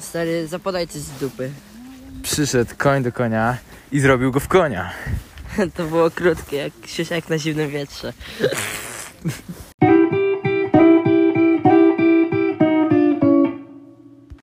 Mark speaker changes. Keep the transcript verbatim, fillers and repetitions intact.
Speaker 1: Stary, zapodaj coś z dupy.
Speaker 2: Przyszedł koń do konia i zrobił go w konia.
Speaker 1: To było krótkie, jak siusiak na zimnym wietrze.